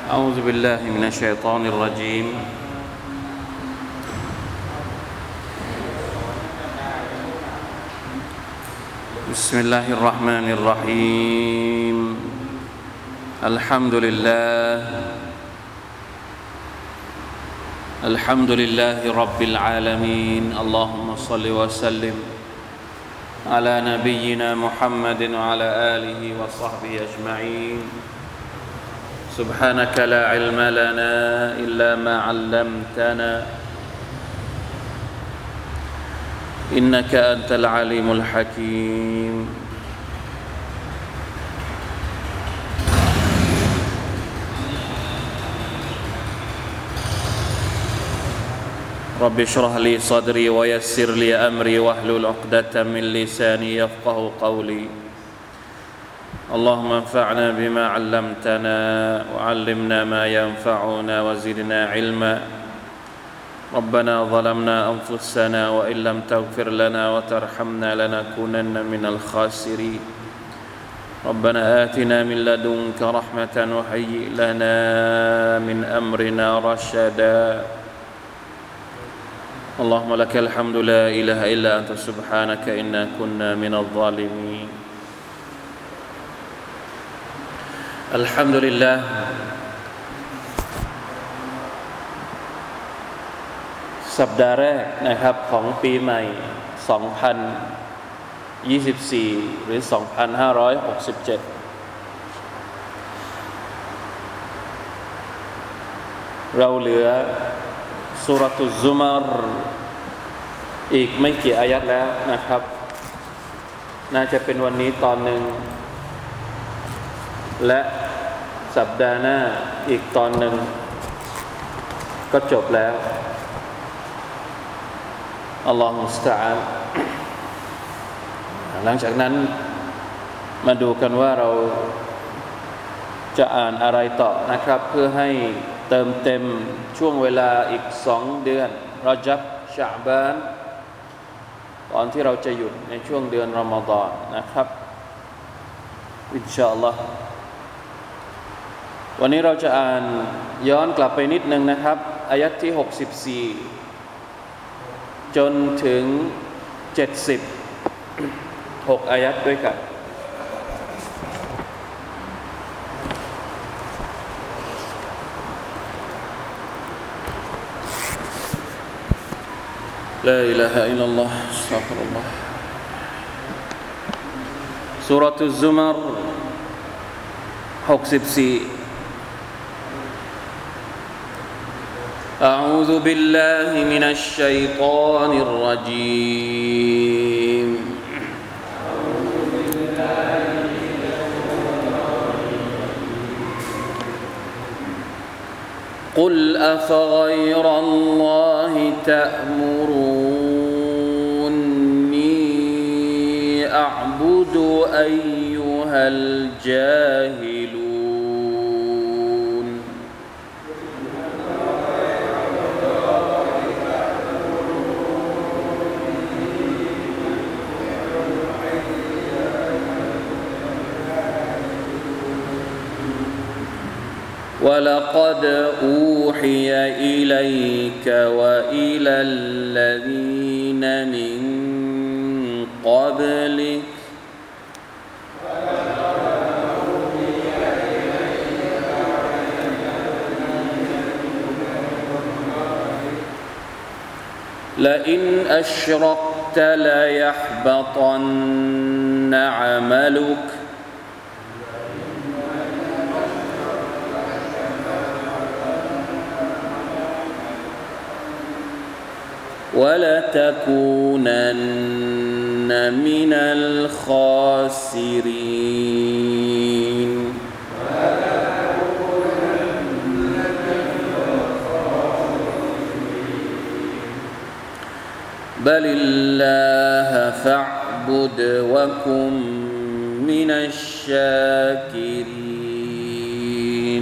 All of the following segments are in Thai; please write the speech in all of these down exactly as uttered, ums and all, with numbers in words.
أعوذ بالله من الشيطان الرجيم بسم الله الرحمن الرحيم الحمد لله الحمد لله رب العالمين اللهم صل وسلم على نبينا محمد وعلى آله وصحبه أجمعين سبحانك لا علم لنا إلا ما علمتنا إنك أنت العليم الحكيم رب اشرح لي صدري ويسر لي أمري واحلل عقدة من لساني يفقه قولي اللهم انفعنا بما علمتنا وعلمنا ما ينفعنا وزدنا علما ربنا ظلمنا أنفسنا وإن لم تغفر لنا وترحمنا لنكونن من الخاسرين ربنا آتنا من لدنك رحمة وهيئ لنا من أمرنا رشدا اللهم لك الحمد لا إله إلا أنت سبحانك إنا كنا من الظالمين الحمد للهสัปดาห์แรกนะครับของปีใหม่สองพันยี่สิบสี่หรือสองพันห้าร้อยหกสิบเจ็ดเราเหลือซูเราะตุซุมารอีกไม่กี่อายัตแล้วนะครับน่าจะเป็นวันนี้ตอนหนึ่งและสัปดาห์หน้าอีกตอนหนึ่งก็จบแล้วอัลลอฮฺมุสตะอาลหลังจากนั้นมาดูกันว่าเราจะอ่านอะไรต่อนะครับเพื่อให้เติมเต็มช่วงเวลาอีกสองเดือนรอญับชะอ์บานตอนที่เราจะหยุดในช่วงเดือนรอมฎอนนะครับอินชาอัลลอฮฺวันนี้เราจะอ่านย้อนกลับไปนิดนึงนะครับอายัตที่หกสิบสี่จนถึงเจ็ดสิบหกอายัตด้วยกันลาอิลาฮะอิลลัลลอฮอัสตัฆฟิรุลลอฮซูเราะตุซุมารหกสิบสี่أعوذ بالله من الشيطان الرجيم قل أفغير الله تأمروني أعبد أيها الجاهلون ولقد أوحي إليك وإلى الذين من قبلك لئن أشركت ليحبطن عملك ولتكونن من الخاسرين بل الله فاعبد وكن من الشاكرين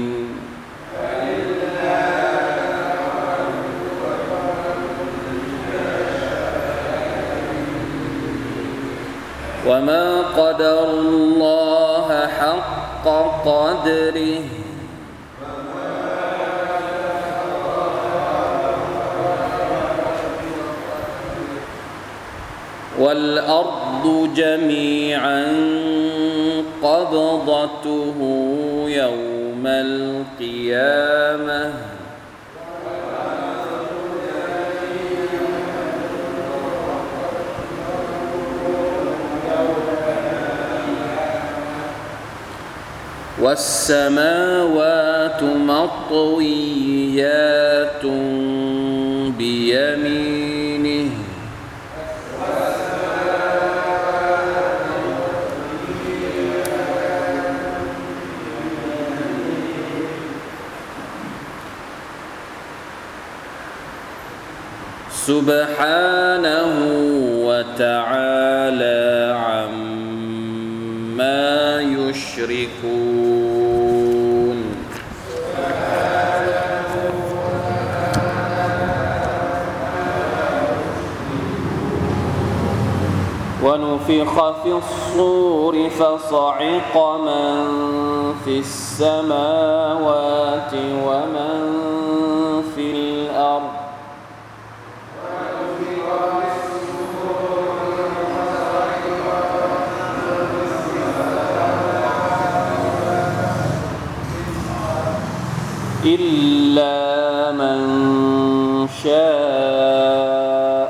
وما قدروا الله حق قدره والأرض جميعا قبضته يوم القيامة والسماوات مطويات بيمينه سبحانه وتعالى عما يشركون ونفخ في الصور فصعق من في السماوات ومن في الأرض إلا من شاء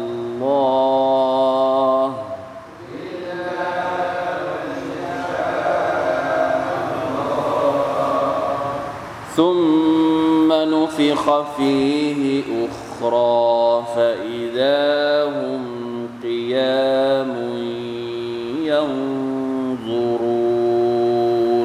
الله ثم نفخ فيه أخرى فإذا هم قيام ينظرون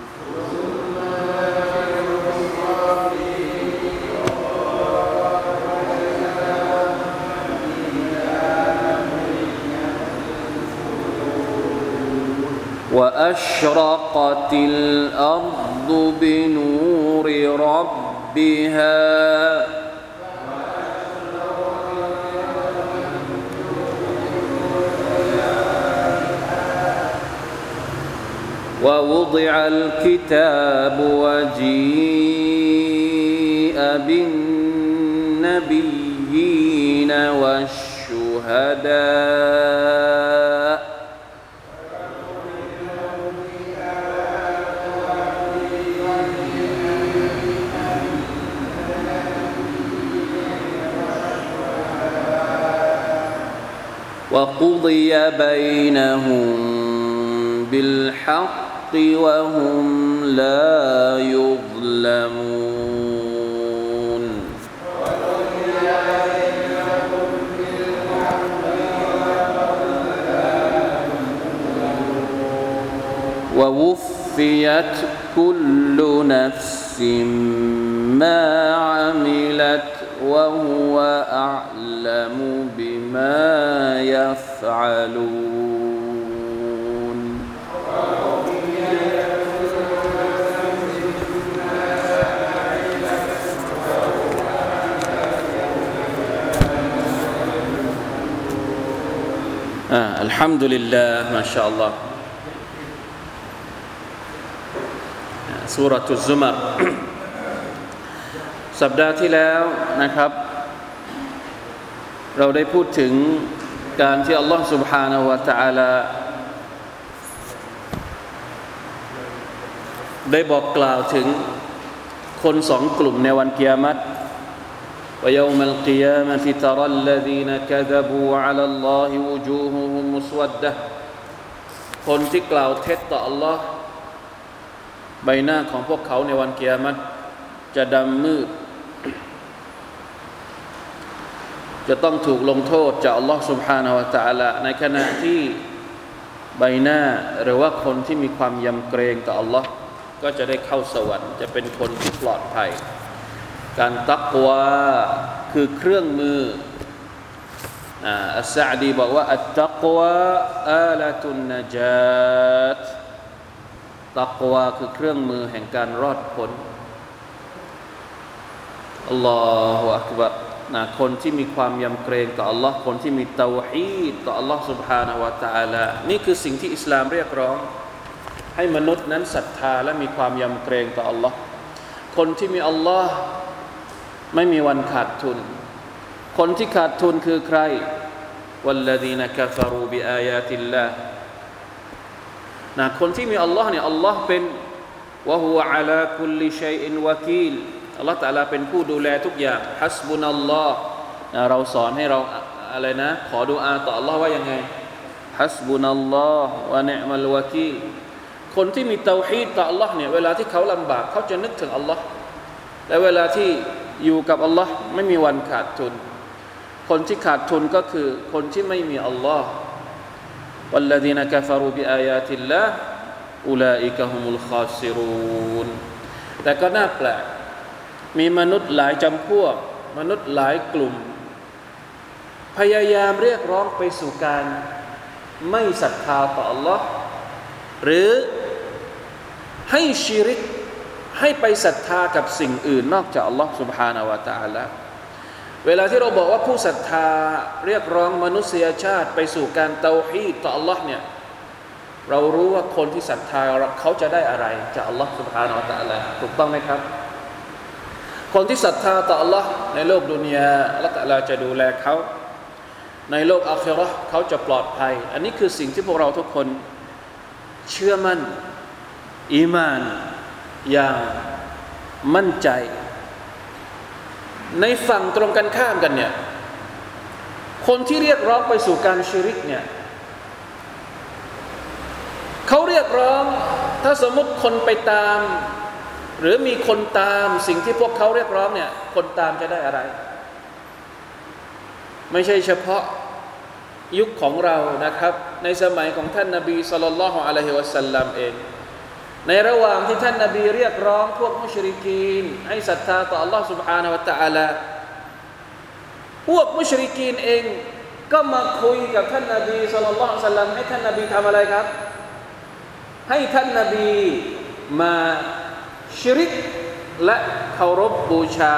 وأشرقت الأرض بنور ربها ووضع الكتاب وجيء بالنبيين والشهداء وقضي بينهم بالحق وهم لا يظلمون ووفيت كل نفس ما عملت وهو أعلم بما يفعلون آه الحمد لله ما شاء الله سورة الزمر สัปดาห์ที่แล้วนะครับเราได้พูดถึงการที่อัลลอฮฺ سبحانه และ تعالى ได้บอกกล่าวถึงคนสองกลุ่มในวันกิยามะฮ์ويوم القيامة ترى الذين كذبوا على الله وجوههم مسودة คนที่กล่าวเท็จต่ออัลลอฮ์ใบหน้าของพวกเขาในวันกิยามะฮ์จะดำมืดจะต้องถูกลงโทษจากอัลลอฮ์ سبحانه และ تعالى ในขณะที่ใบหน้าหรือว่าคนที่มีความยำเกรงต่ออัลลอฮ์ก็จะได้เข้าสวรรค์จะเป็นคนที่ปลอดภัยการตักวาคือเครื่องมืออ่าอัสซะอ์ดีบอกว่าอัตตักวาอาละตุนนะญาตตักวาคือเครื่องมือแห่งการรอดพ้นอัลลอฮฺอักบัรนะคนที่มีความยำเกรงต่ออัลลอฮ์คนที่มีเตาฮีดต่ออัลลอฮ์ سبحانه และ تعالى นี่คือสิ่งที่อิสลามเรียกร้องให้มนุษย์นั้นศรัทธาและมีความยำเกรงต่ออัลลอฮ์คนที่มีอัลลอฮ์ไม่มีวันขาดทุนคนที่ขาดทุนคือใคร والذين كفروا بآيات الله นะคนที่มีอัลลอฮ์เนี่ยอัลลอฮ์เป็นวะฮุวะอะลาคุลลิชัยอินวะกีลอัลลอฮ์ตะอาลาเป็นผู้ดูแลทุกอย่างฮัสบุนัลลอฮ์เราสอนให้เราอะไรนะขอดุอาต่ออัลลอฮ์ว่ายังไงฮัสบุนัลลอฮ์วะนิอ์มัลวะกีลคนที่มีเตาฮีดต่ออัลลอฮ์เนี่ยเวลาที่เขาลำบากเขาจะนึกถึงอัลลอฮ์และเวลาที่อยู่กับอัลลอฮ์ไม่มีวันขาดทุนคนที่ขาดทุนก็คือคนที่ไม่มีอัลลอฮ์والذين كفروا بآيات الله أولئك هم الخاسرون แต่ก็น่าแปลกมีมนุษย์หลายจำพวกมนุษย์หลายกลุ่มพยายามเรียกร้องไปสู่การไม่ศรัทธาต่อ Allah หรือให้ชิริกให้ไปศรัทธากับสิ่งอื่นนอกจาก Allah سبحانه และ تعالى เวลาที่เราบอกว่าผู้ศรัทธาเรียกร้องมนุษยชาติไปสู่การเตาฮีดต่อ Allah เนี่ยเรารู้ว่าคนที่ศรัทธาเขาจะได้อะไรจาก Allah سبحانه และ تعالى ถูกต้องไหมครับคนที่ศรัทธาต่อ Allah ในโลกดุนยา Allah تعالى จะดูแลเขาในโลกอาคิเราะห์เขาจะปลอดภัยอันนี้คือสิ่งที่พวกเราทุกคนเชื่อมั่นอีมานอย่างมั่นใจในฝั่งตรงกันข้ามกันเนี่ยคนที่เรียกร้องไปสู่การชิริกเนี่ยเขาเรียกร้องถ้าสมมติคนไปตามหรือมีคนตามสิ่งที่พวกเขาเรียกร้องเนี่ยคนตามจะได้อะไรไม่ใช่เฉพาะยุคของเรานะครับในสมัยของท่านนบีศ็อลลัลลอฮุอะลัยฮิวะซัลลัมเองในระหว่างที่ท่านนบีเรียกร้องพวกมุชริกีนให้ศรัทธาต่อ Allah سبحانه และ تعالى พวกมุชริกีนเองก็มาคุยกับท่านนบีศ็อลลัลลอฮุอะลัยฮิวะซัลลัมให้ท่านนบีทำอะไรครับให้ท่านนบีมาชิริกและเคารพบูชา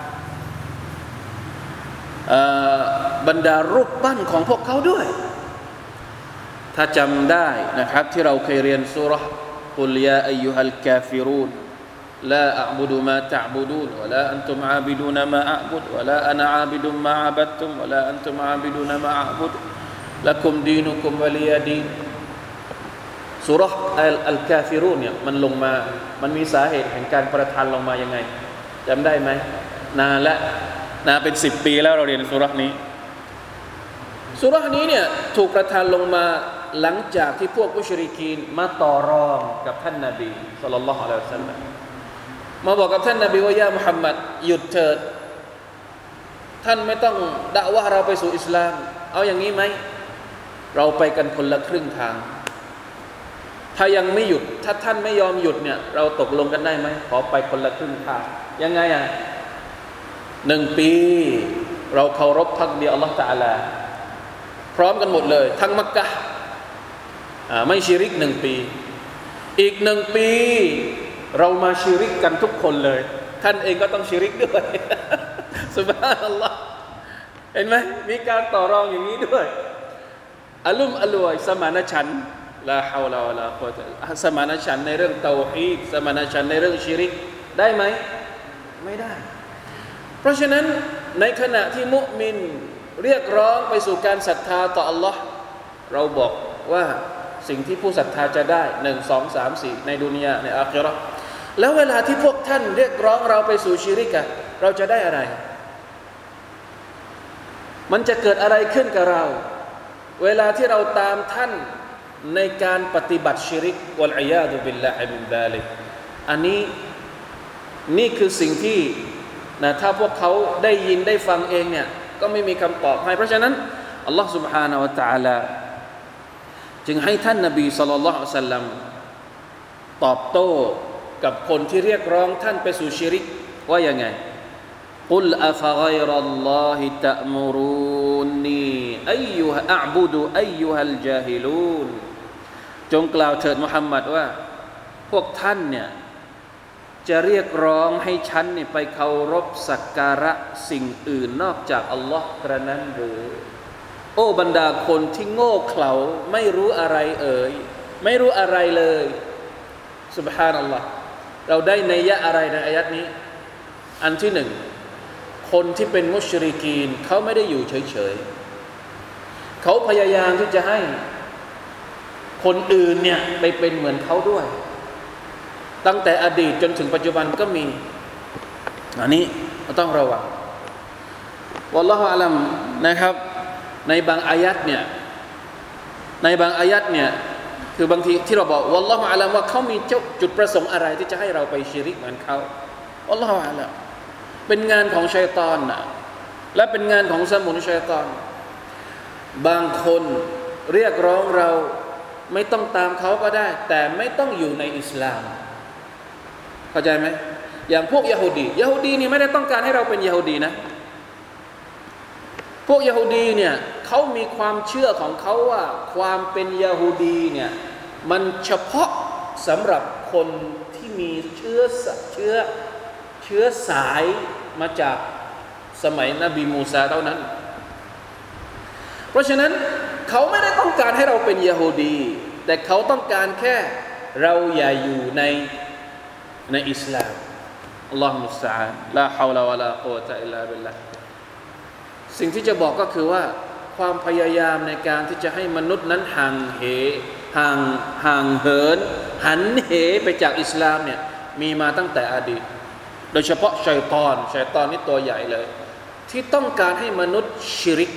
บรรดารูปปั้นของพวกเขาด้วยถ้าจำได้นะครับที่เราเคยเรียนซูเราะห์กุลยาอัยยูฮัลกาฟิรูนลาอัอ์บุดุมาตะอ์บุดูนวะลาอันตุมอาบิดูนมาอัอ์บุดวะลาอะนะอาบิดุมาอะบัดตุมวะลาอันตุมอาบิดูนมาอัอ์บุดละกุมดีนุกุมวะลิยาดีนซูเราะห์อัลกาฟิรูนเนี่ยมันลงมามันมีสาเหตุแห่งการประทานลงมายังไงจำได้ไหมนานละนะเป็นสิบปีแล้วเราเรียนซูเราะห์นี้ซูเราะห์นี้เนี่ยถูกประทานลงมาหลังจากที่พวกมุชริกีนมาต่อรองกับท่านนบีศ็อลลัลลอฮุอะลัยฮิวะซัลลัมมาบอกกับท่านนบีว่ายามุฮัมมัดหยุดเถิดท่านไม่ต้องดะอ์วะห์เราไปสู่อิสลามเอาอย่างนี้ไหมเราไปกันคนละครึ่งทางถ้ายังไม่หยุดถ้าท่านไม่ยอมหยุดเนี่ยเราตกลงกันได้ไหมขอไปคนละครึ่งทางยังไงอ่ะหนึ่งปีเราเคารพพักดีอัลลอฮฺตะอาลาพร้อมกันหมดเลยทั้งมักกะฮ์ไม่ชิริกหนึ่งปีอีกหนึ่งปีเรามาชิริกกันทุกคนเลยท่านเองก็ต้องชิริกด้วยซุบฮานัลลอฮ์เห็นไหมมีการต่อรองอย่างนี้ด้วยอัลลุมอัลลวยสมานฉันท์ลาฮาวลาวะลากุวะตะสมานฉันท์ในเรื่องเตาฮีดสมานฉันท์ในเรื่องชิริกได้ไหมไม่ได้เพราะฉะนั้นในขณะที่มุมินเรียกร้องไปสู่การศรัทธาต่อ Allah เราบอกว่าสิ่งที่ผู้ศรัทธาจะได้หนึ่ง สอง สาม สี่ในดุนยาในอาคิเราะห์แล้วเวลาที่พวกท่านเรียกร้องเราไปสู่ชิริกะเราจะได้อะไรมันจะเกิดอะไรขึ้นกับเราเวลาที่เราตามท่านในการปฏิบัติชิริกวัลอียาซุบิลลาฮิมินซาลิกอันนี้นี่คือสิ่งที่นะถ้าพวกเขาได้ยินได้ฟังเองเนี่ยก็ไม่มีคำตอบให้เพราะฉะนั้นอัลลอฮฺ سبحانه และ تعالى จึงให้ท่านนบีศ็อลลัลลอฮุอะลัยฮิวะซัลลัมตอบโต้กับคนที่เรียกร้องท่านไปสู่ชิริกว่ายังไงกุลอะฟะฆอยรัลลอฮิตะมุรูนีอัยยูฮะอะอ์บุดุอัยยูฮัลญาฮิลูนจงกล่าวเถิดมุฮัมมัดว่าพวกท่านเนี่ยจะเรียกร้องให้ฉันเนี่ยไปเคารพสักการะสิ่งอื่นนอกจากอัลลอฮ์กระนั้นหรือโอ้บรรดาคนที่โง่เขลาไม่รู้อะไรเอ่ยไม่รู้อะไรเลยซุบฮานัลลอฮ์เราได้นัยยะอะไรในอายัดนี้อันที่หนึ่งคนที่เป็นมุชริกีนเขาไม่ได้อยู่เฉยๆเขาพยายามที่จะให้คนอื่นเนี่ยไปเป็นเหมือนเขาด้วยตั้งแต่อดีตจนถึงปัจจุบันก็มีอันนี้เราต้องระวังวัลลอฮุอะลัมนะครับในบางอายัดเนี่ยในบางอายัดเนี่ยคือบางทีที่เราบอกวัลลอฮุอะลัมว่าเขามีจุดประสงค์อะไรที่จะให้เราไปชิริกเหมือนเขาวัลลอฮุอะลัมเป็นงานของชัยฏอนนะและเป็นงานของสมุนชัยฏอนบางคนเรียกร้องเราไม่ต้องตามเขาก็ได้แต่ไม่ต้องอยู่ในอิสลามเข้าใจไหมอย่างพวกยะฮูดียะฮูดีนี่ไม่ได้ต้องการให้เราเป็นยะฮูดีนะพวกยะฮูดีเนี่ยเขามีความเชื่อของเขาว่าความเป็นยะฮูดีเนี่ยมันเฉพาะสำหรับคนที่มีเชื้อเชื้อเชื้อสายมาจากสมัยนบีมูซาเท่านั้นเพราะฉะนั้นเขาไม่ได้ต้องการให้เราเป็นยะฮูดีแต่เขาต้องการแค่เราอย่าอยู่ในในอิสลามอัลลอฮฺมุสตะอาน์ลาฮาวลาวะลากุวะตะอิลลาบิลลาห์สิ่งที่จะบอกก็คือว่าความพยายามในการที่จะให้มนุษย์นั้นห่างเหห่างห่างเหินหันเหไปจากอิสลามเนี่ยมีมาตั้งแต่อดีตโดยเฉพาะชัยฏอนชัยฏอนนี่ตัวใหญ่เลยที่ต้องการให้มนุษย์ชิริก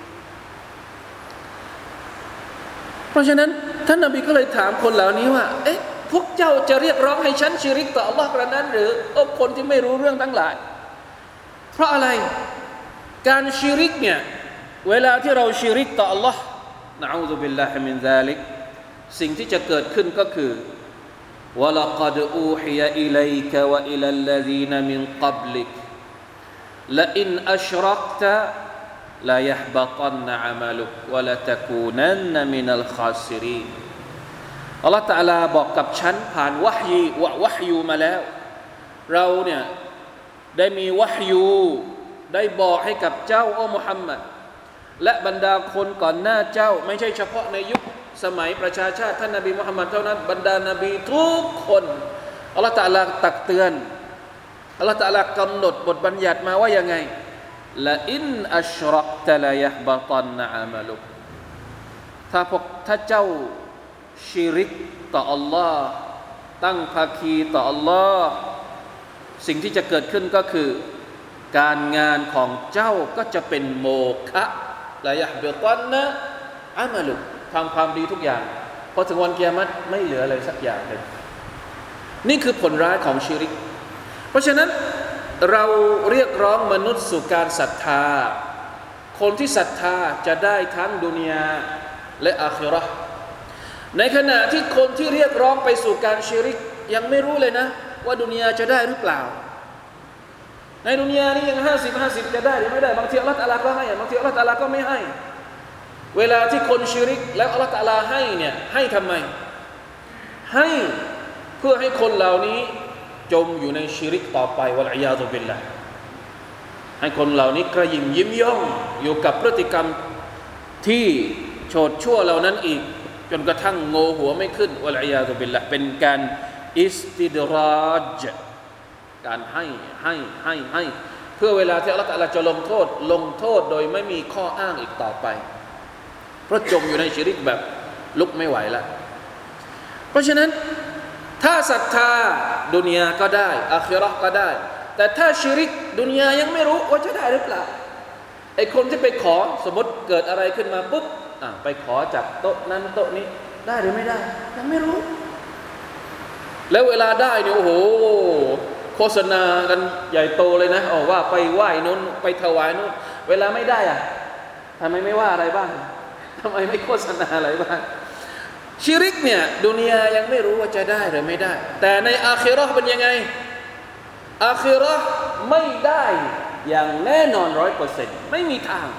เพราะฉะนั้นท่านนบีก็เลยถามคนเหล่านี้ว่าเอ๊ะพวกเจ้าจะเรียกร้องให้ฉันชิริกต่ออัลลอฮ์กระนั้นหรือโอ้คนที่ไม่รู้เรื่องทั้งหลายเพราะอะไรการชิริกเนี่ยเวลาที่เราชิริกต่ออัลลอฮ์นะอูซุบิลลาฮิมินซาลิกสิ่งที่จะเกิดขึ้นก็คือวะลากัดอูฮิยะอิลัยกะวะอิลัลลซีนมินกับลิกละอินอัชรักตะลายะฮบะตันอะมัลุกวะละตะกูนันมินัลคาซิรีนอัลลอฮฺตะอาลาบอกกับฉันผ่านวะฮีวะวะฮยูมาแล้วเราเนี่ยได้มีวะฮยูได้บอกให้กับเจ้าโอ้มุฮัมมัดและบรรดาคนก่อนหน้าเจ้าไม่ใช่เฉพาะในยุคสมัยประชาชาติท่านนบีมุฮัมมัดเท่านั้นบรรดานบีทุกคนอัลลอฮฺตะอาลาตักเตือนอัลลอฮฺตะอาลากำหนดบทบัญญัติมาว่ายังไงละอินอัชรักตะลายะฮบะตันอะมัลุกถ้าพวกถ้าเจ้าชิริกต่ออัลลอฮ์ตั้งภาคีต่ออัลลอฮ์สิ่งที่จะเกิดขึ้นก็คือการงานของเจ้าก็จะเป็นโมฆะลายะฮบะตันนะอะมัลุกทำความดีทุกอย่างพอถึงวันกิยามะฮ์ไม่เหลืออะไรสักอย่างเลยนี่คือผลร้ายของชิริกเพราะฉะนั้นเราเรียกร้องมนุษย์สู่การศรัทธาคนที่ศรัทธาจะได้ทั้งดุนยาและอาคิเราะห์ในขณะที่คนที่เรียกร้องไปสู่การชิริกยังไม่รู้เลยนะว่าดุนยาจะได้หรือเปล่าในดุนยานี่ยังห้าสิบ ห้าสิบจะได้หรือไม่ได้บางทีอัลเลาะห์ตะอาลาก็ให้บางทีอัลเลาะห์ตะอาลาก็ไม่ให้เวลาที่คนชิริกแล้วอัลเลาะห์ตะอาลาให้เนี่ยให้ทำไมให้เพื่อให้คนเหล่านี้จมอยู่ในชิริกต่อไปวัลอียาซุบิลลาห์ให้คนเหล่านี้กระยิมยิ้มย่องอยู่กับพฤติกรรมที่โฉดชั่วเหล่านั้นอีกจนกระทั่งโง่หัวไม่ขึ้นวัลอียาซุบิลลาห์เป็นการอิสติดราจการให้ให้ให้ให้เพื่อเวลาที่อัลเลาะห์ตะอาลาจะลงโทษลงโทษโดยไม่มีข้ออ้างอีกต่อไปเพราะจมอยู่ในชิริกแบบลุกไม่ไหวแล้วเพราะฉะนั้นถ้าศรัทธาดุนยาก็ได้อาคิเราะห์ก็ได้แต่ถ้าชิริกดุนยายังไม่รู้ว่าจะได้หรือเปล่าไอ้คนที่ไปขอสมมติเกิดอะไรขึ้นมาปุ๊บอ่ะไปขอจากโต๊ะนั้นโต๊ะนี้ได้หรือไม่ได้ยังไม่รู้แล้วเวลาได้เนี่ยโอ้โหโฆษณากันใหญ่โตเลยนะอ๋อว่าไปไหว้นู้นไปถวายนู้นเวลาไม่ได้อ่ะทำไมไม่ว่าอะไรบ้างทำไมไม่โฆษณาอะไรบ้างชิริกเนี่ยดุนยายังไม่รู้ว่าจะได้หรือไม่ได้แต่ในอาคิเราะห์เป็นยังไงอาคิเราะห์ไม่ได้อย่างแน่นอน ร้อยเปอร์เซ็นต์ ไม่มีทาง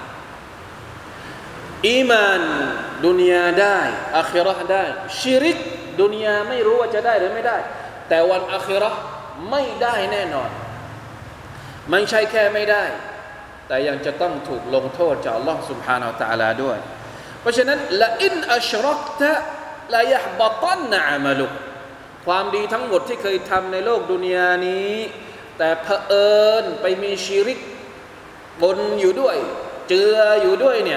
อีมานดุนยาได้อาคิเราะห์ได้ชิริกดุนยาไม่รู้ว่าจะได้หรือไม่ได้แต่วันอาคิเราะห์ไม่ได้แน่นอนไม่ใช่แค่ไม่ได้แต่ยังจะต้องถูกลงโทษจากอัลเลาะห์ซุบฮานะฮูวะตะอาลาด้วยเพราะฉะนั้นละอินอัชรักตะลายะฮบะตันนะอะมัลุกความดีทั้งหมดที่เคยทำในโลกดุนยานี้แต่เผอิญไปมีชิริกปนอยู่ด้วยเจืออยู่ด้วยเนี่ย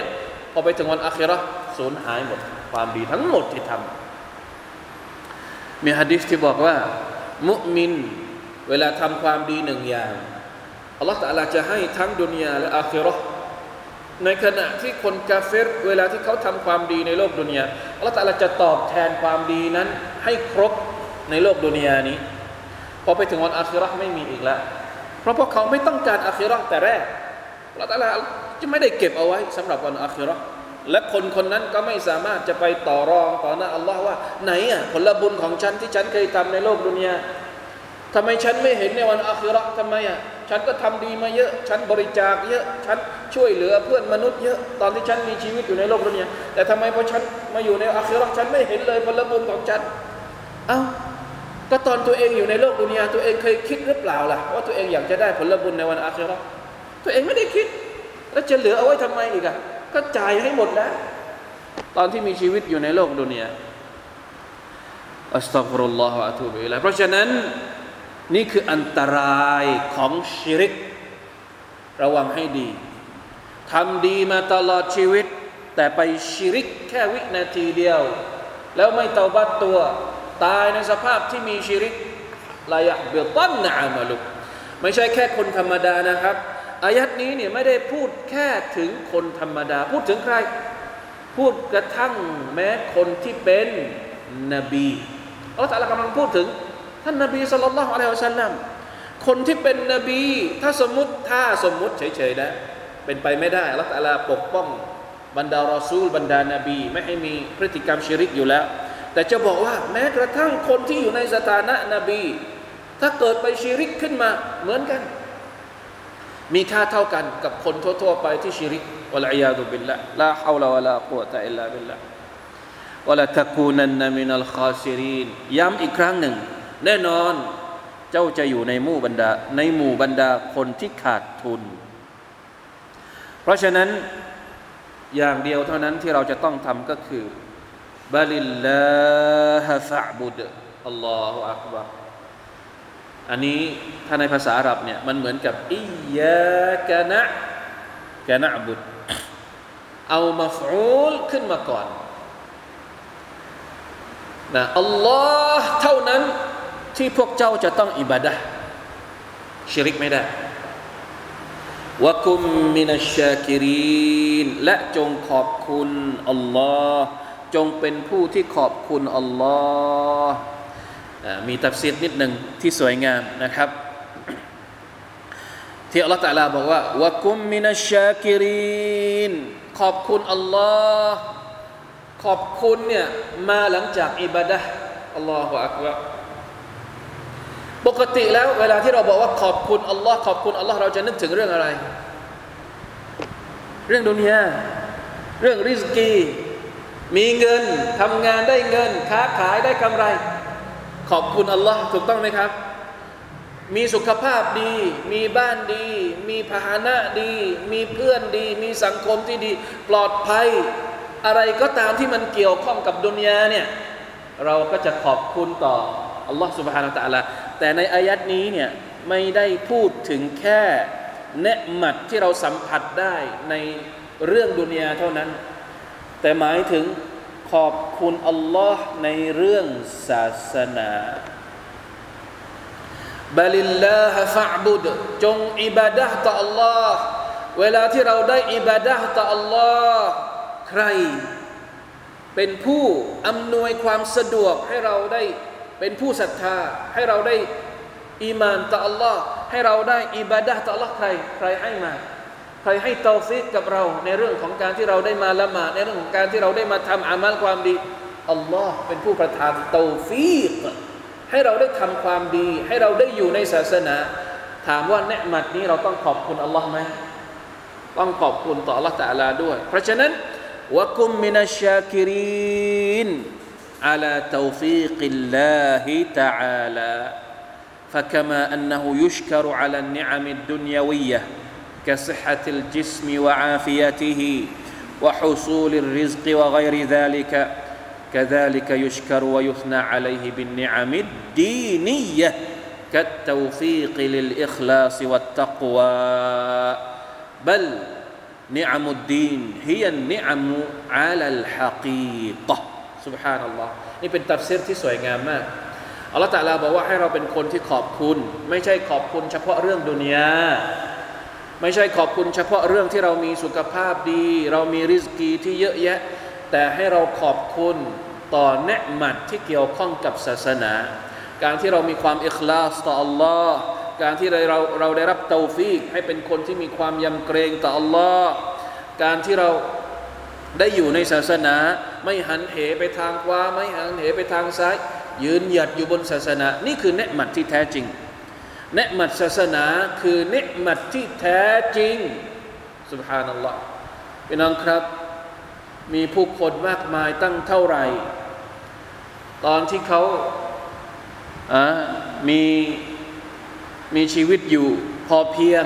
พอไปถึงวันอาคิเราะห์สูญหายหมดความดีทั้งหมดที่ทำมีหะดีษที่บอกว่ามุมินเวลาทำความดีหนึ่งอย่างอัลลอฮฺตะอาลาจะให้ทั้งดุนยาและอาคิเราะห์ในขณะที่คนกาเฟรเวลาที่เขาทำความดีในโลกดุนยาอัลลอฮฺตะอาลาจะตอบแทนความดีนั้นให้ครบในโลกดุนยานี้พอไปถึงวันอาคิเราะห์ไม่มีอีกแล้วเพราะพวกเขาไม่ต้องการอาคิเราะห์แต่แรกอัลลอฮฺตะอาลาจะไม่ได้เก็บเอาไว้สำหรับวันอาคิเราะห์และคนคนนั้นก็ไม่สามารถจะไปต่อรองต่อหน้าอัลลอฮ์ว่าไหนอ่ะผลบุญของฉันที่ฉันเคยทำในโลกดุนยาทำไมฉันไม่เห็นในวันอาคิเราะห์ทำไมอ่ะฉันก็ทำดีมาเยอะฉันบริจาคเยอะฉันช่วยเหลือเพื่อนมนุษย์เยอะตอนที่ฉันมีชีวิตอยู่ในโลกดุนยาแต่ทำไมพอฉันมาอยู่ในอาคิเราะห์ฉันไม่เห็นเลยผลบุญของฉันเอ้าก็ตอนตัวเองอยู่ในโลกดุนยาตัวเองเคยคิดหรือเปล่าล่ะว่าตัวเองอยากจะได้ผลบุญในวันอาคิเราะห์ตัวเองไม่ได้คิดแล้วจะเหลือเอาไว้ทำไมอีกอ่ะก็จ่ายให้หมดแล้วตอนที่มีชีวิตอยู่ในโลกดุนยาอัสตัฆฟิรุลลอฮฺวะอะตูบิอิลัยฮิเพราะฉะนั้นนี่คืออันตรายของชิริกระวังให้ดีทำดีมาตลอดชีวิตแต่ไปชิริกแค่วินาทีเดียวแล้วไม่เตาบัตตัวตายในสภาพที่มีชิริกลายะบิตันนะอามัลุกไม่ใช่แค่คนธรรมดานะครับอายัดนี้เนี่ยไม่ได้พูดแค่ถึงคนธรรมดาพูดถึงใครพูดกระทั่งแม้คนที่เป็นนบีอัลเลาะห์ตะอาลากำลังพูดถึงท่านนบีศ็อลลัลลอฮุอะลัยฮิวะซัลลัมคนที่เป็นนบีถ้าสมมุติถ้าสมมุติเฉยๆนะเป็นไปไม่ได้อัลเลาะห์ตะอาลาปกป้องบรรดารอซูลบรรดานบีไม่ให้มีพฤติกรรมชิริกอยู่แล้วแต่จะบอกว่าแม้กระทั่งคนที่อยู่ในสถานะนบีถ้าเกิดไปชิริกขึ้นมาเหมือนกันมีค่าเท่ากันกับคนทั่วๆไปที่ชิริกวะลัยยาซุบิลละลาฮาวละวะลากุวะตะอิลลาบิลละวะลาตะกูนันนะมินัลคอซิรีนย้ำอีกครั้งหนึ่งแน่นอนเจ้าจะอยู่ในหมู่บรรดาในหมู่บรรดาคนที่ขาดทุนเพราะฉะนั้นอย่างเดียวเท่านั้นที่เราจะต้องทำก็คือบะลิลลาฮะฟะอ์บุดอัลลอฮุอักบัรอันนี้ถ้าในภาษาอาหรับเนี่ยมันเหมือนกับอิยากะนะกะนะอ์บุดเอามัฟอูลขึ้นมาก่อนนะอัลลอฮ์เท่านั้นที่พวกเจ้าจะต้องอิบาดะห์ชิริกไม่ได้วะกุมมินัชชาคิรีนและจงขอบคุณอัลลอฮ์จงเป็นผู้ที่ขอบคุณอัลลอฮ์มีตัฟซีรนิดหนึ่งที่สวยงามนะครับที่อัลลอฮฺตะอาลาบอกว่าวะกุมมินัชชาคิรีนขอบคุณอัลลอฮ์ขอบคุณเนี่ยมาหลังจากอิบาดะห์อัลลอฮฺอักบัรปกติแล้วเวลาที่เราบอกว่าขอบคุณอัลลอฮ์ขอบคุณอัลลอฮ์เราจะนึกถึงเรื่องอะไรเรื่องดุนยาเรื่องริซกีมีเงินทำงานได้เงินค้าขายได้กำไรขอบคุณอัลลอฮ์ถูกต้องไหมครับมีสุขภาพดีมีบ้านดีมีพาหนะดีมีเพื่อนดีมีสังคมที่ดีปลอดภัยอะไรก็ตามที่มันเกี่ยวข้องกับดุนยาเนี่ยเราก็จะขอบคุณต่ออัลลอฮ์ سبحانه และ تعالى แต่ในอายัดนี้เนี่ยไม่ได้พูดถึงแค่เนืหมัดที่เราสัมผัสได้ในเรื่องดุนยาเท่านั้นแต่หมายถึงขอบคุณอัลลอฮ์ในเรื่องศาสนาบะลิลลาฮะฟะอ์บุดจงอิบาดะห์ต่ออัลลอฮ์เวลาที่เราได้อิบาดะห์ต่ออัลลอฮ์ใครเป็นผู้อำนวยความสะดวกให้เราได้เป็นผู้ศรัทธาให้เราได้อีมานต่ออัลลอฮ์ให้เราได้อิบาดะห์ต่ออัลลอฮ์ใครใครให้มาใครให้เตาฟีกกับเราในเรื่องของการที่เราได้มาละหมาดในเรื่องของการที่เราได้มาทำอามัลความดีอัลลอฮ์เป็นผู้ประทานเตาฟีกให้เราได้ทำความดีให้เราได้อยู่ในศาสนาถามว่าเนืหมัดนี้เราต้องขอบคุณอัลลอฮ์ไหมต้องขอบคุณต่ออัลลอฮ์ตะอาลาด้วยเพราะฉะนั้นวะกุมมินัชชาคิรีนอะลาเตาฟีกิลลาฮิตะอาลา فكما أنه يشكر على النعم الدنيوية كصحة الجسم وعافيته وحصول الرزق وغير ذلك كذلك يشكر ويثنى عليه بالنعم الدينية كالتوفيق للإخلاص والتقوى بل นิอามุดดีนฮิยันนิอามุอาลัลฮะกีกะห์ซุบฮานัลลอฮ์นี่เป็นตัฟซีรที่สวยงามมากอัลเลาะห์ตะอาลาบอกว่าให้เราเป็นคนที่ขอบคุณไม่ใช่ขอบคุณเฉพาะเรื่องดุนยาไม่ใช่ขอบคุณเฉพาะเรื่องที่เรามีสุขภาพดีเรามีริซกีที่เยอะแยะแต่ให้เราขอบคุณต่อเนืหมัดที่เกี่ยวข้องกับศาสนาการที่เรามีความอิคลาสต่ออัลลอฮ์การที่เราเราได้รับเตาฟีกให้เป็นคนที่มีความยำเกรงต่ออัลลอฮ์การที่เราได้อยู่ในศาสนาไม่หันเหไปทางขวาไม่หันเหไปทางซ้ายยืนหยัดอยู่บนศาสนานี่คือเนืหมัดที่แท้จริงเนืหมัดศาสนาคือเนืหมัดที่แท้จริงซุบฮานัลลอฮ์พี่น้องครับมีผู้คนมากมายตั้งเท่าไหร่ตอนที่เขาอ่ามีมีชีวิตอยู่พอเพียง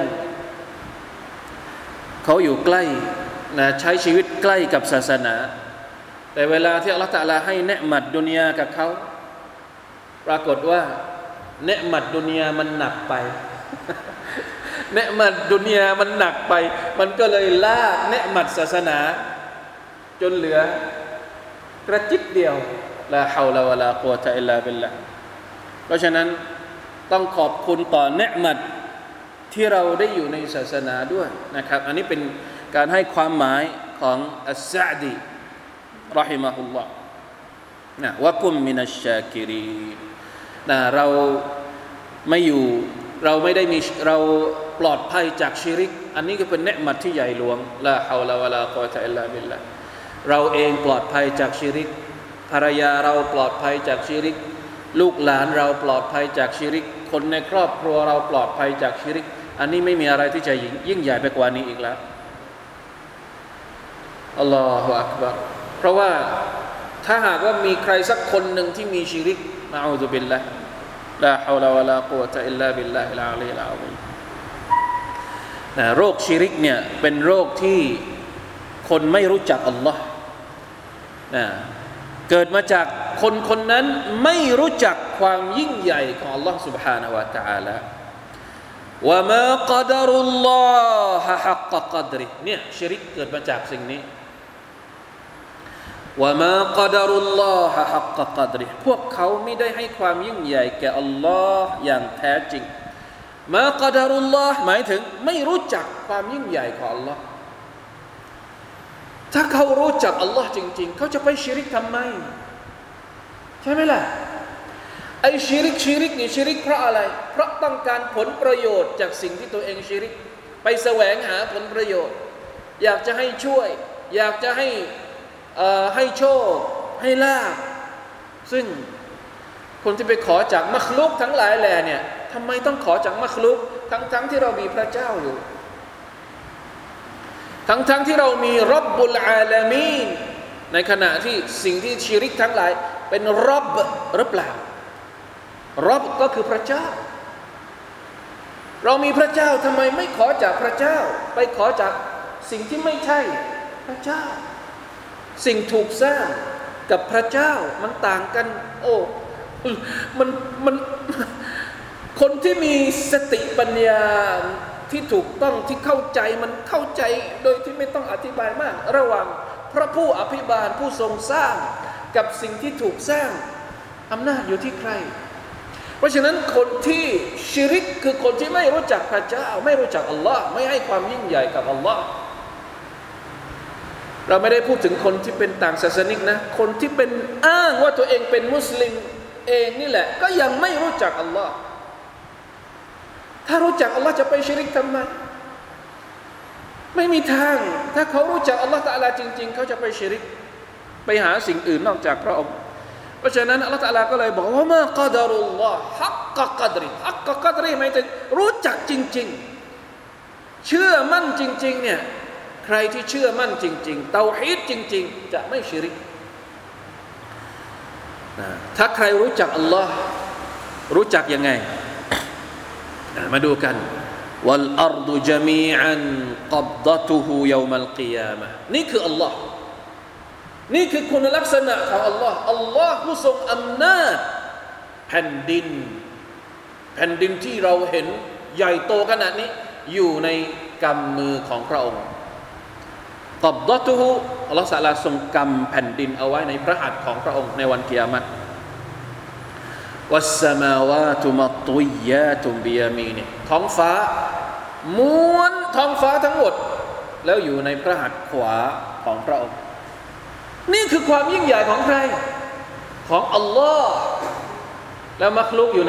เขาอยู่ใกล้นะใช้ชีวิตใกล้กับศาสนาแต่เวลาที่อัลเลาะห์ตะอาลาให้เนืหมัดดุนยากับเขาปรากฏว่าเนืหมัดดุนยามันหนักไป เนืหมัดดุนยามันหนักไปมันก็เลยลากเนืหมัดศาสนาจนเหลือกระจิตเดียวลาฮาวลาวะลากุวะตะอิลลาบิลลาห์เพราะฉะนั้นต้องขอบคุณต่อเนืหมัดที่เราได้อยู่ในศาสนาด้วยนะครับอันนี้เป็นการให้ความหมายของอัสซะอ์ดีเราะฮิมะฮุลลอฮ์นะวะกุมมินัชชาคิรีนนะเราไม่อยู่เราไม่ได้มีเราปลอดภัยจากชิริกอันนี้ก็เป็นเนืหมัดที่ใหญ่หลวงลาฮาวลาวะลากุวะตะอิลลาบิลลาห์เราเองปลอดภัยจากชิริกภรรยาเราปลอดภัยจากชิริกลูกหลานเราปลอดภัยจากชิริกคนในครอบครัวเราปลอดภัยจากชิริกอันนี้ไม่มีอะไรที่จะยิ่งใหญ่ไปกว่านี้อีกแล้วอัลลอฮฺอักบัรเพราะว่าถ้าหากว่ามีใครสักคนหนึ่งที่มีชิริกนะอูซุบิลลาห์ลาฮาวลาวะลากุวะตะอิลลาบิลลาฮิลอะลีลอะซีมนะโรคชิริกเนี่ยเป็นโรคที่คนไม่รู้จักอัลลอฮ์นะเกิดมาจากคนคนนั้นไม่รู้จักความยิ่งใหญ่ของอัลลอฮ์ سبحانه และ تعالى วะมากัดรุลลอฮะฮักกะกัดริเนี่ยชิริกเกิดมาจากสิ่งนี้วะมากัดรุลลอฮะฮักกะกัดริพวกเขาไม่ได้ให้ความยิ่งใหญ่แก่อัลลอฮ์อย่างแท้จริงมากัดรุลลอฮ์หมายถึงไม่รู้จักความยิ่งใหญ่ของอัลลอฮ์ถ้าเขารู้จักอัลลอฮ์จริงๆเขาจะไปชิริกทำไมใช่ไหมล่ะไอ้ชิริกชิริกนี่ชิริกเพราะอะไรเพราะต้องการผลประโยชน์จากสิ่งที่ตัวเองชิริกไปแสวงหาผลประโยชน์อยากจะให้ช่วยอยากจะให้เอ่อให้โชคให้ลาภซึ่งคนที่ไปขอจากมัคลุกทั้งหลายแหล่เนี่ยทำไมต้องขอจากมัคลุกทั้งๆที่เรามีพระเจ้าอยู่ทั้งๆ ท, ที่เรามีร็อบบุลอาลามีนในขณะที่สิ่งที่ชิริกทั้งหลายเป็นร็อบหรือเปล่าร็อบก็คือพระเจ้าเรามีพระเจ้าทำไมไม่ขอจากพระเจ้าไปขอจากสิ่งที่ไม่ใช่พระเจ้าสิ่งถูกสร้างกับพระเจ้ามันต่างกันโอ้มันมันคนที่มีสติปัญญาที่ถูกต้องที่เข้าใจมันเข้าใจโดยที่ไม่ต้องอธิบายมากระหว่างพระผู้อภิบาลผู้ทรงสร้างกับสิ่งที่ถูกสร้างอำนาจอยู่ที่ใครเพราะฉะนั้นคนที่ชิริกคือคนที่ไม่รู้จักพระเจ้าไม่รู้จักอัลลอฮ์ไม่ให้ความยิ่งใหญ่กับอัลลอฮ์เราไม่ได้พูดถึงคนที่เป็นต่างศาสนิกนะคนที่เป็นอ้างว่าตัวเองเป็นมุสลิมเองนี่แหละก็ยังไม่รู้จักอัลลอฮ์ถ้ารู้จักอัลลอฮ์จะไปชิริกทำไมไม่มีทางถ้าเขารู้จักอัลลอฮ์ตะอาลาจริงๆเขาจะไปชิริกไปหาสิ่งอื่นนอกจากพระองค์เพราะฉะนั้นอัลลอฮ์ตะอาลาก็เลยบอกว่ามากัดรุลลอฮ์ฮักกะกัดริฮักกะกัดริหมายถึงรู้จักจริงๆเชื่อมั่นจริงๆเนี่ยใครที่เชื่อมั่นจริงๆเตาฮีดจริงๆจะไม่ชิริกถ้าใครรู้จักอัลลอฮ์รู้จักยังไงมาดูกันวัลอัรฎุญะมีอันกับฎะตุฮุยอมัลกิยามะห์นี่คืออัลลอฮ์นี่คือคุณลักษณะของอัลลอฮ์อัลลอฮ์ผู้ทรงอำนาจแผ่นดินแผ่นดินที่เราเห็นใหญ่โตขนาดนี้อยู่ในกำมือของพระองค์กับดะตุฮุอัลลอฮฺตะอาลาทรงกำแผ่นดินเอาไว้ในพระหัตถ์ของพระองค์ในวันกิยามะฮ์วัสสมาวาตุมัตตุยยาตุบิยามีนิท้องฟ้าม้วนท้องฟ้าทั้งหมดแล้วอยู่ในพระหัตถ์ขวาของพระองค์นี่คือความยิ่งใหญ่ของใครของอัลลอฮ์แล้วมักลุกอยู่ไหน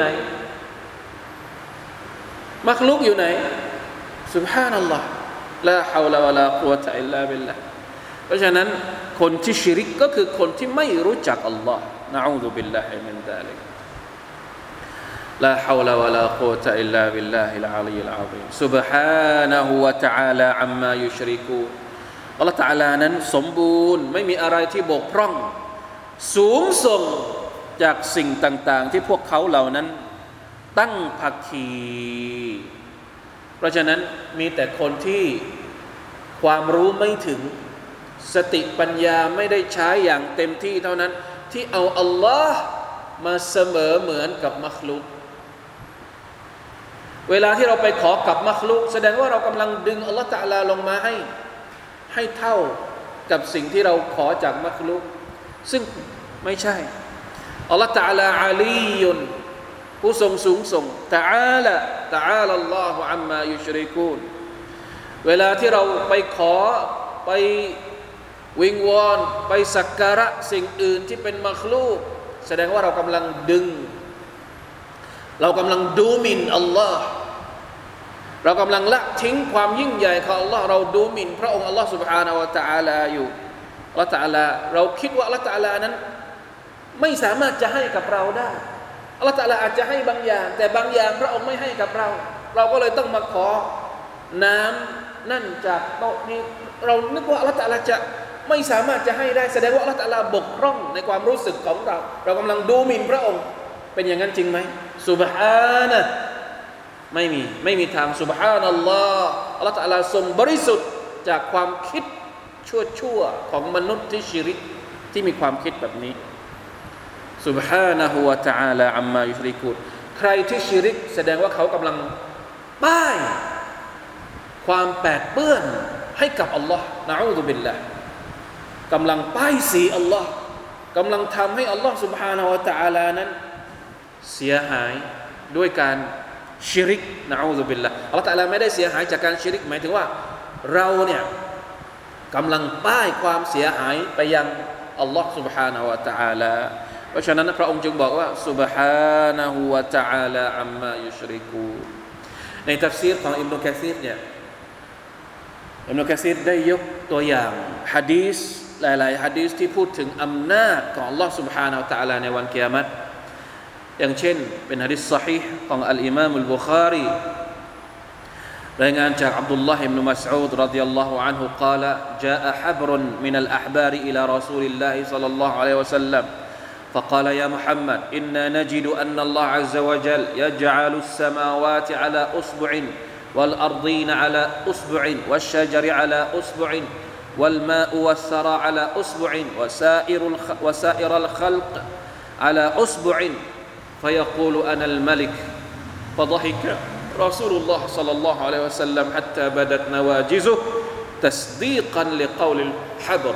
มักลุกอยู่ไหนซุบฮานัลลอฮ์ลาฮาวลาวะลากุวะตะอิลลาบิลลาห์เพราะฉะนั้นคนที่ชิริกก็คือคนที่ไม่รู้จักอัลลอฮ์นะอูซุบิลลาฮิมินซาลิกลาฮาวลาวะลากุวะตะอิลลาบิลลาฮิลอะลียิลอะซีมซุบฮานะฮูวะตะอาลาอัมมายุชริกูนอัลเลาะห์ตะอาลานั้นสมบูรณ์ไม่มีอะไรที่บกพร่องสูงส่งจากสิ่งต่างๆที่พวกเขาเหล่านั้นตั้งภาคีเพราะฉะนั้นมีแต่คนที่ความรู้ไม่ถึงสติปัญญาไม่ได้ใช้อย่างเต็มที่เท่านั้นที่เอาอัลลอฮ์มาเสมอเหมือนกับมัคลุกเวลาที่เราไปขอกับมัคลุกแสดงว่าเรากำลังดึงอัลลอฮ์ตะอาลาลงมาให้ให้เท่ากับสิ่งที่เราขอจากมัคลุกซึ่งไม่ใช่อัลลอฮ์ตะอาลาอาลียุนผู้ทรงสูงส่งตะอาลาตะอาลาอัลลอฮุอัมมายุชริกูนเวลาที่เราไปขอไปวิงวอนไปสักการะสิ่งอื่นที่เป็นมัคลูกแสดงว่าเรากำลังดึงเรากำลังดูหมิ่นอัลลอฮ์เรากำลังละทิ้งความยิ่งใหญ่ของอัลลอฮ์เราดูหมิ่นพระองค์อัลลอฮ์ سبحانه และ تعالى อยู่อัลลอฮ์ تعالى เราคิดว่าอัลลอฮ์ تعالى นั้นไม่สามารถจะให้กับเราได้อัลลอฮ์ تعالى อาจจะให้บางอย่างแต่บางอย่างพระองค์ไม่ให้กับเราเราก็เลยต้องมาขอน้ำนั่นจากโต๊ะนี้เรานึกว่าอัลลอฮ์ تعالى จะไม่สามารถจะให้ได้แสดงว่าอัลลอฮ์ تعالى บกพร่องในความรู้สึกของเราเรากำลังดูหมิ่นพระองค์เป็นอย่างนั้นจริงไหมซุบฮานะห์ไม่มีไม่มีทางซุบฮานัลลอฮ์อัลลอฮ์ تعالى ทรงบริสุทธิ์จากความคิดชั่วๆของมนุษย์ที่ชิริกที่มีความคิดแบบนี้ซุบฮานะฮูวะตะอาลาอัมมายุชริกูนใครที่ชิริกแสดงว่าเขากำลังป้ายความแปดเปื้อนให้กับอัลลอฮ์นะอูซุบิลลาห์กำลังป้ายสีอัลลอฮ์กำลังทำให้อัลลอฮ์ซุบฮานะฮูวะตะอาลานั้นเสียหายด้วยการชิริกนะอูซุบิลลาห์อัลลอฮ์ตะอาลาไม่ได้เสียหายจากการชิริกหมายถึงว่าเราเนี่ยกำลังป้ายความเสียหายไปยังอัลลอฮ์ سبحانه และ تعالى เพราะฉะนั้นพระองค์จึงบอกว่า سبحانه และ تعالى อัมมายุชริกูนในตัฟซีรของอิบนุกะซีรเนี่ยอิบนุกะซีรได้ยกตัวอย่างหะดีษหลายๆหะดีษที่พูดถึงอำนาจของอัลลอฮ์ سبحانه และ تعالى ในวันกิยามะฮ์อย่างเช่นเป็นหะดีษซอฮีห์ของอัลอิมามอัลบุคารีรายงานจากอับดุลลาห์อิบนุมัสอูดรฎิยัลลอฮุอันฮุกล่าวจาอะฮับรุนมินัลอะห์บาริอิลารอซูลิลลาฮิศ็อลลัลลอฮุอะลัยฮิวะซัลลัม فقال يا محمد إنا نجد أن الله عز وجل يجعل السماوات على أصبع والأرضين على أصبع والشجر على أصبع والماء والثرى على أصبع وسائر وسائر الخلق على أصبع فيقول أنا الملك فضحك رسول الله صلى الله عليه وسلم حتى بدت نواجزه تصديقا لقول الحبر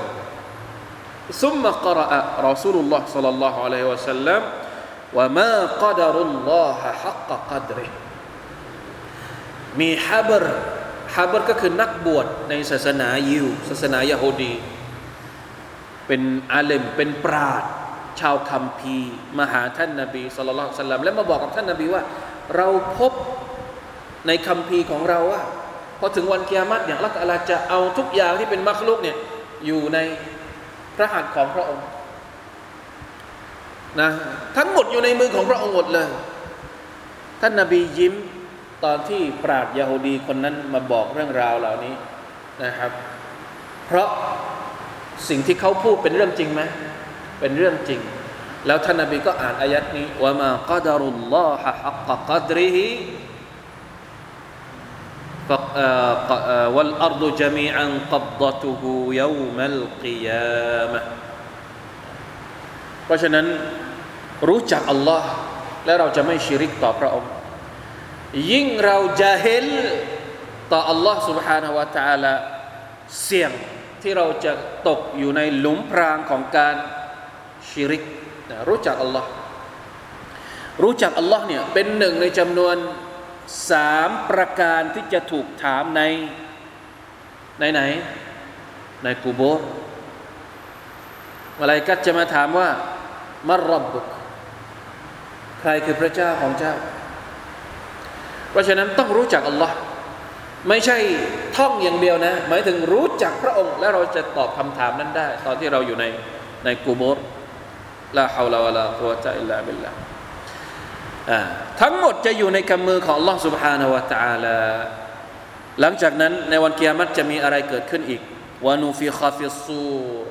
ثم قرأ رسول الله صلى الله عليه وسلم وما قدر الله حق قدره มีฮับรฮับรก็คือนักบวชในศาสนายิวศาสนายะฮูดีเป็นอาเลมเป็นปราชญ์ชาวคัมภีร์มาหาท่านนบีศ็อลลัลลอฮุอะลัยฮิวะซัลลัมและมาบอกกับท่านนบีว่าเราพบในคัมภีร์ของเราว่าพอถึงวันกิยามะฮ์เนี่ยอัลเลาะห์ตะอาลาจะเอาทุกอย่างที่เป็นมัคลุกเนี่ยอยู่ในพระหัตถ์ของพระองค์นะทั้งหมดอยู่ในมือของพระองค์หมดเลยท่านนบียิ้มตอนที่ปราชญ์ยะฮูดีคนนั้นมาบอกเรื่องราวเหล่านี้นะครับเพราะสิ่งที่เขาพูดเป็นเรื่องจริงไหมเป็นเรื่องจริงแล้วท่านนบีก็อ่านอายัดนี้วะมากัดารุลลอฮะฮักกะกัดริฮิوالأرض جميعا قبضته يوم القيامة เพราะฉะนั้นรู้จักอัลลอฮ์และเราจะไม่ชิริกต่อพระองค์ยิ่งเราจะเห็นต่ออัลลอฮ์ سبحانه และ تعالى เสี่ยงที่เราจะตกอยู่ในหลุมพรางของการชิริกนะรู้จักอัลลอฮ์รู้จักอัลลอฮ์เนี่ยเป็นหนึ่งในจำนวนสามประการที่จะถูกถามในในไหนในกุโบร์มลาอิกะฮ์จะมาถามว่ามัรร็อบบุกใครคือพระเจ้าของเจ้าเพราะฉะนั้นต้องรู้จักอัลลอฮ์ไม่ใช่ท่องอย่างเดียวนะหมายถึงรู้จักพระองค์และเราจะตอบคำถามนั้นได้ตอนที่เราอยู่ในในกุโบร์ลาฮาวลาวะลากุวะตะอิลลาบิลลาห์ทั้งหมดจะอยู่ในกำมือของ Allah سبحانه และ تعالى หลังจากนั้นในวันกิยามะฮ์จะมีอะไรเกิดขึ้นอีกวะนูฟิคฟิศซูร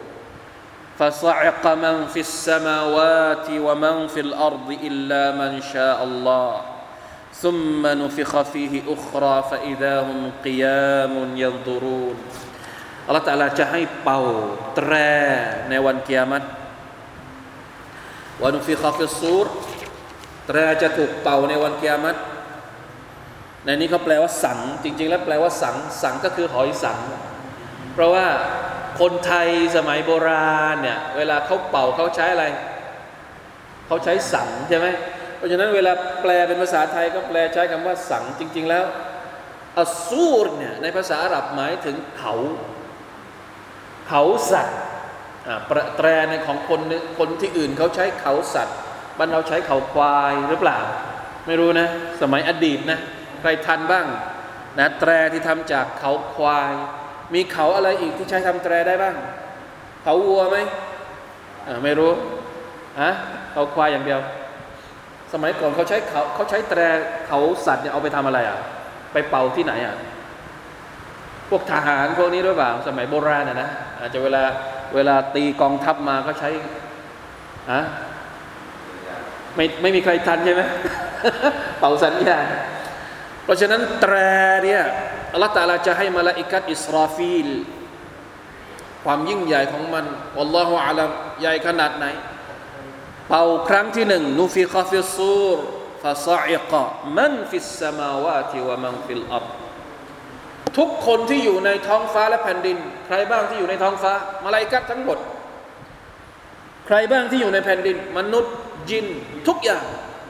فصعق من في السماوات ومن في الأرض إلا من شاء الله ثم نفخ فيه أخرى فإذا هم قيام ينظرون Allah Ta'ala จะให้เป่าแตรในวันกิยามะฮ์วะนูฟิคฟิศซูรแตรจะถูกเป่าในวันกิยามะฮ์ในนี้เขาแปลว่าสังจริงๆแล้วแปลว่าสังสังก็คือหอยสังเพราะว่าคนไทยสมัยโบราณเนี่ยเวลาเขาเป่าเขาใช้อะไรเขาใช้สังใช่ไหมเพราะฉะนั้นเวลาแปลเป็นภาษาไทยก็แปลใช้คำว่าสังจริงๆแล้วอัสซูรเนี่ยในภาษาอาหรับหมายถึงเขาเขาสัตว์แตรในของคนคนที่อื่นเขาใช้เขาสัตว์บ้านเราใช้เขาควายหรือเปล่าไม่รู้นะสมัยอดีตนะใครทันบ้างนะแตรที่ทำจากเขาควายมีเขาอะไรอีกที่ใช้ทำแตรได้บ้างเขาวัวไหมอ่าไม่รู้ฮะเขาควายอย่างเดียวสมัยก่อนเขาใช้เขาเขาใช้แตรเขาสัตว์เนี่ยเอาไปทำอะไรอ่ะไปเป่าที่ไหนอ่ะพวกทหารพวกนี้หรือเปล่าสมัยโบราณน่ะนะอาจจะเวลาเวลาตีกองทัพมาเขาใช้ฮะไม่ไม่มีใครทันใช่ไหม เป่าสัญญาณเพราะฉะนั้นแตรเนี่ยอัลลอฮฺตะอาลาจะให้มลาอิกะฮ์อิสราฟีลความยิ่งใหญ่ของมันอัลลอฮฺอาลัมใหญ่ขนาดไหนเป่าครั้งที่หนึ่งนูฟิคฟิศซูรฟะซะอิกะมันฟิสสมาวาติวะมันฟิลอัรฎทุกคนที่อยู่ในท้องฟ้าและแผ่นดินใครบ้างที่อยู่ในท้องฟ้ามลาอิกะฮ์ทั้งหมดใครบ้างที่อยู่ในแผ่นดินมนุษย์จินทุกอย่าง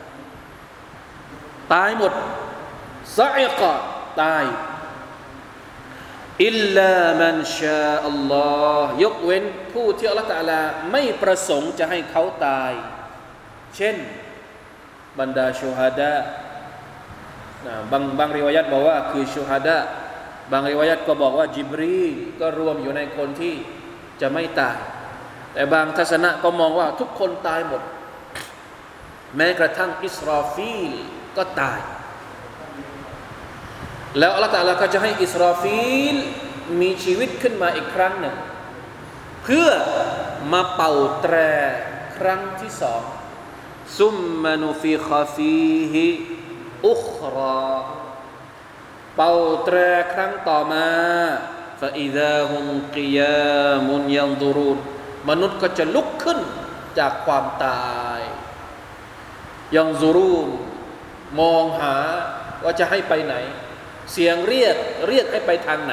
ตายหมดซะอิกะตายอิลลามันชาอัลลอฮ์ยกเว้นผู้ที่อัลเลาะห์ตะอาลาไม่ประสงค์จะให้เขาตายเช่นบรรดาชูฮาดะนะบางบางริวายัตบอกว่าคือชูฮาดะบางริวายัตก็บอกว่าจิบรีลก็รวมอยู่ในคนที่จะไม่ตายแต่บางทัศนะก็มองว่าทุกคนตายหมดแม้กระทั่งอิสราฟีลก็ตายแล้วอัลเลาะห์ตะอาลาก็จะให้อิสราฟีลมีชีวิตขึ้นมาอีกครั้งหนึ่งเพื่อมาเป่าแตรครั้งที่สองซุมมานุฟิคฟีฮิอุคราเป่าแตรครั้งต่อมาฟะอิซาฮุมกิยามุนยันซุรูนมนุษย์ก็จะลุกขึ้นจากความตายยันซุรูนมองหาว่าจะให้ไปไหนเสียงเรียกเรียกให้ไปทางไหน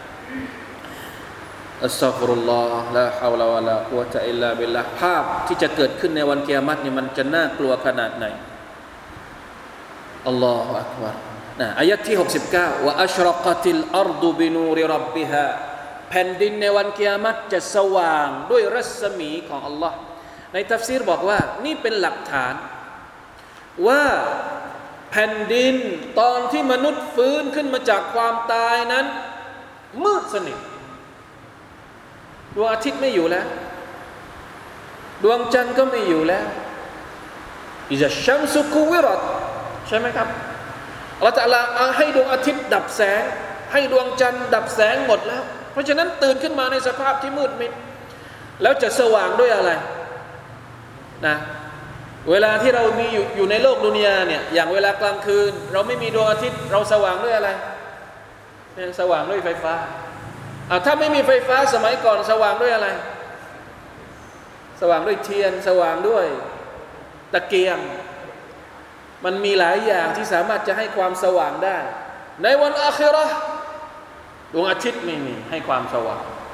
อัสซะฆฟิรุลลอฮ์ลาฮาวลาวะลากุวะตะอิลลาบิลลาห์ภาพที่จะเกิดขึ้นในวันกิยามะฮ์นี่มันจะน่ากลัวขนาดไหนอัลลอฮุอักบัรนะอายะห์ที่หกสิบเก้าวะอัชรกะติลอัรฎุบินูริร็อบบิฮาแผ่นดินในวันกิยามะฮ์จะสว่างด้วยรัศมีของอัลลอฮ์ในตัฟซีรบอกว่านี่เป็นหลักฐานว่าแผ่นดินตอนที่มนุษย์ฟื้นขึ้นมาจากความตายนั้นมืดสนิทดวงอาทิตย์ไม่อยู่แล้วดวงจันทร์ก็ไม่อยู่แล้วอิซะชัมซุกุวิรัตใช่ไหมครับอัลเลาะห์ตะอาลาให้ดวงอาทิตย์ดับแสงให้ดวงจันทร์ดับแสงหมดแล้วเพราะฉะนั้นตื่นขึ้นมาในสภาพที่มืดมิดแล้วจะสว่างด้วยอะไรนะเวลาที่เรามีอยู่อยู่ในโลกดุนยาเนี่ยอย่างเวลากลางคืนเราไม่มีดวงอาทิตย์เราสว่างด้วยอะไรเนี่ยสว่างด้วยไฟฟ้าอ่ะถ้าไม่มีไฟฟ้าสมัยก่อนสว่างด้วยอะไรสว่างด้วยเทียนสว่างด้วยตะเกียงมันมีหลายอย่างที่สามารถจะให้ความสว่างได้ในวันอาคิเราะห์ดวงอาทิตย์ไม่มีให้ความสว่าง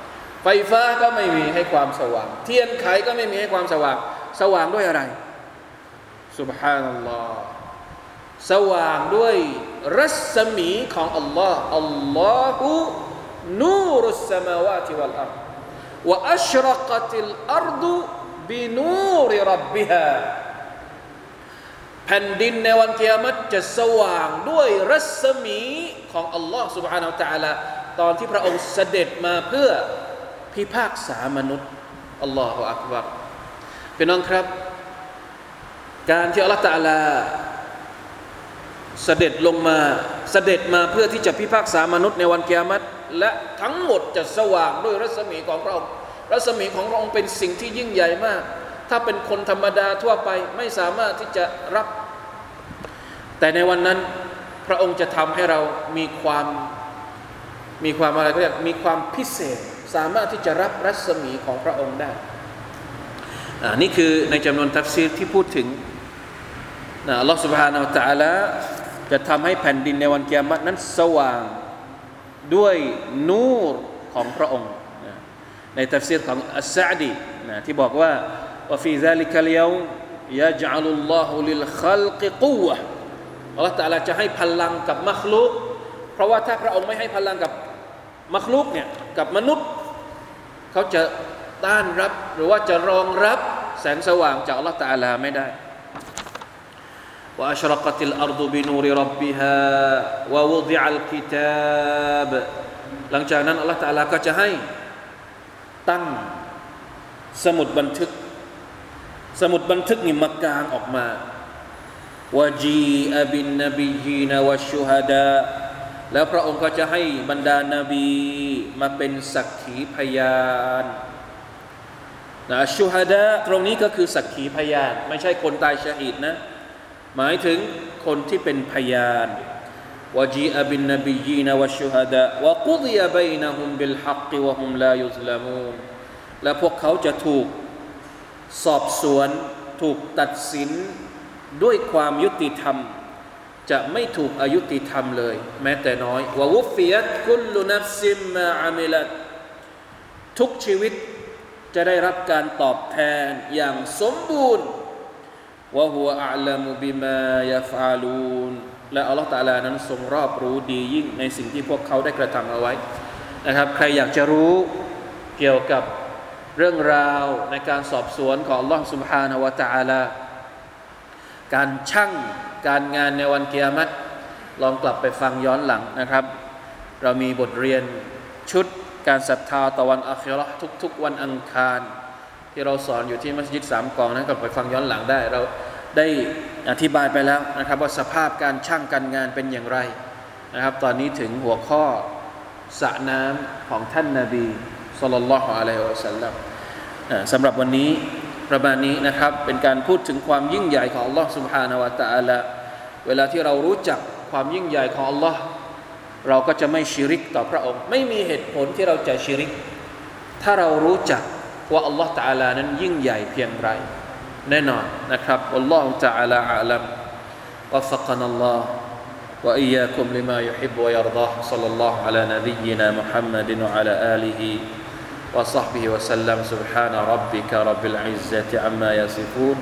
ไฟฟ้าก็ไม่มีให้ความสว่างเทียนไขก็ไม่มีให้ความสว่างสว่างด้วยอะไรซุบฮานัลลอฮ์สว่างด้วยรัศมีของอัลลอฮ์อัลลอฮุนูรุสสมาวาติวัลอัรฎ์วะอัชรกัติลอัรฎุบินูริร็อบบิฮาแผ่นดินในวันกิยามะฮ์จะสว่างด้วยรัศมีของอัลลอฮ์ سبحانه และ تعالى ตอนที่พระองค์เสด็จมาเพื่อพิพากษามนุษย์อัลลอฮฺอักบัรพี่น้องครับการที่อัลลอฮฺตะอาลาเสด็จลงมาเสด็จมาเพื่อที่จะพิพากษามนุษย์ในวันกิยามะฮ์และทั้งหมดจะสว่างด้วยรัศมีของพระองค์รัศมีของพระองค์เป็นสิ่งที่ยิ่งใหญ่มากถ้าเป็นคนธรรมดาทั่วไปไม่สามารถที่จะรับแต่ในวันนั้นพระองค์จะทำให้เรามีความมีความอะไรก็เรียกมีความพิเศษสามารถที่จะรับรัศมีของพระองค์ได้อ่านี่คือในจำนวนตัฟซีรที่พูดถึงนะอัลลอฮฺ سبحانه และ تعالى จะทำให้แผ่นดินในวันกิยามะฮ์นั้นสว่างด้วยนูรของพระองค์นะในตัฟซีรของอัสซะอ์ดีนะที่บอกว่าว่าฟีซาลิกัลยอมยะญะลุลลอฮุลิลคัลกิกุวะห์อัลลอฮฺ تعالى จะให้พลังกับมัคลุกเพราะว่าถ้าพระองค์ไม่ให้พลังกับมัคลุกเนี่ยกับมนุษย์เขาจะต้านรับหรือว่าจะรองรับแสงสว่างจากอัลลอฮฺ تعالى ไม่ได้วะอัชรกัติลอัรฎุบินูริร็อบบิฮาวะวุฎิอัลกิตาบหลังจากนั้นอัลลอฮฺ تعالى ก็จะให้ตั้งสมุดบันทึกสมุดบันทึกนี่มากางออกมาวะจีอะบินนบียีนวะชุฮดาแล้วพระองค์ก็จะให้บรรดานาบีมาเป็นสักขีพยานนะชุฮดาตรงนี้ก็คือสักขีพยานไม่ใช่คนตายชะฮีดนะหมายถึงคนที่เป็นพยานวะจีอะบินนบียีนวะชุฮดาวะกุฎิยะบัยนะฮุมบิลฮักวะฮุมลายุซลามูนและพวกเขาจะถูกสอบสวนถูกตัดสินด้วยความยุติธรรมจะไม่ถูกอายุติธรรมเลยแม้แต่น้อยวะวุฟิยัตกุลลุนัฟซิมมาอามิลัตทุกชีวิตจะได้รับการตอบแทนอย่างสมบูรณ์วะฮุวะอัลมุบิมายัฟอาลูนและอัลเลาะห์ตะอาลานั้นทรงรอบรู้ดียิ่งในสิ่งที่พวกเขาได้กระทำเอาไว้นะครับใครอยากจะรู้เกี่ยวกับเรื่องราวในการสอบสวนของอัลเลาะห์ซุบฮานะฮูวะตะอาลาการชั่งการงานในวันกิยามะฮ์ลองกลับไปฟังย้อนหลังนะครับเรามีบทเรียนชุดการศรัทธาต่อวันอาคิเราะห์ทุกๆวันอังคารที่เราสอนอยู่ที่มัสยิดสามกองนั้นกลับไปฟังย้อนหลังได้เราได้อธิบายไปแล้วนะครับว่าสภาพการชั่งการงานเป็นอย่างไรนะครับตอนนี้ถึงหัวข้อสระน้ำของท่านนบีศ็อลลัลลอฮุอะลัยฮิวะซัลลัมสำหรับวันนี้ประมาณนี้นะครับเป็นการพูดถึงความยิ่งใหญ่ของอัลลอฮ์ سبحانه และ تعالى เวลาที่เรารู้จักความยิ่งใหญ่ของอัลลอฮ์เราก็จะไม่ชิริกต่อพระองค์ไม่มีเหตุผลที่เราจะชิริกถ้าเรารู้จักว่าอัลลอฮ์ تعالى นั้นยิ่งใหญ่เพียงไรแน่นอนนะครับอัลลอฮ์ تعالى อาลัมวัฟกนัลลอฮ์วะอียาคุมลิมายุฮิบวะยัรฎอฮ์ศ็อลลัลลอฮุอะลานบียินามุฮัมมัดวะอะลาอาลิฮิوصحبه وسلم سبحان ربك رب العزة عما يصفون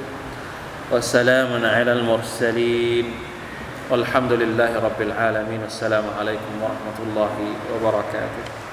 وسلام على المرسلين والحمد لله رب العالمين السلام عليكم ورحمة الله وبركاته